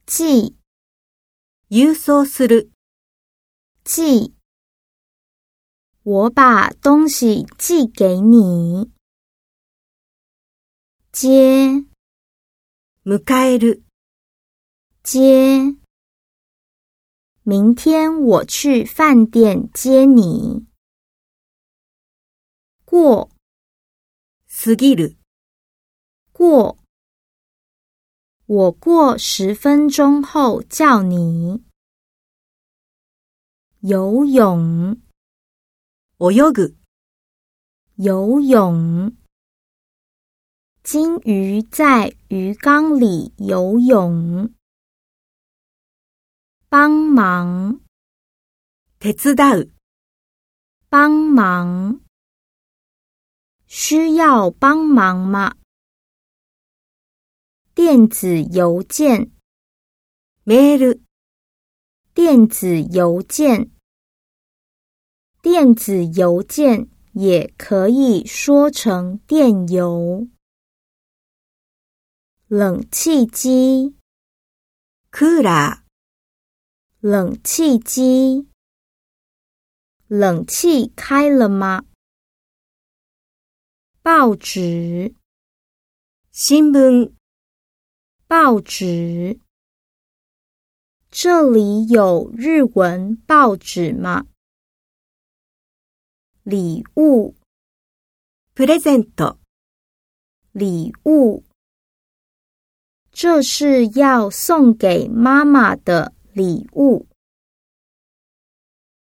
寄、 郵送する。 寄。我把东西寄给你。接、 迎える。 接。明天我去饭店接你。过、 過ぎる。 过。我过10分钟后叫你。游泳、 泳ぐ。 游泳。金鱼在鱼缸里游泳。帮忙、 手伝う。 帮忙。需要帮忙吗？电子邮件、 メール。 电子邮件。电子邮件也可以说成电邮。冷气机、 クーラー。 冷气机。冷气开了吗？报纸、 新聞。 报纸。这里有日文报纸吗？礼物、 プレゼント。 礼物。这是要送给妈妈的礼物。